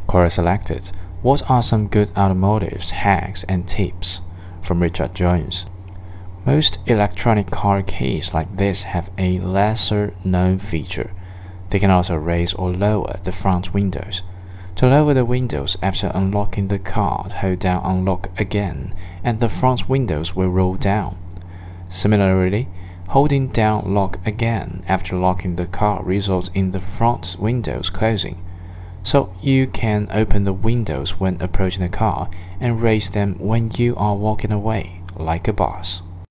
Quora selected, what are some good automotive hacks and tips? From Richard Jones. Most electronic car keys like this have a lesser-known feature. They can also raise or lower the front windows. To lower the windows after unlocking the car, hold down Unlock again, and the front windows will roll down. Similarly, holding down Lock again after locking the car results in the front windows closing. So you can open the windows when approaching the car and raise them when you are walking away, like a boss.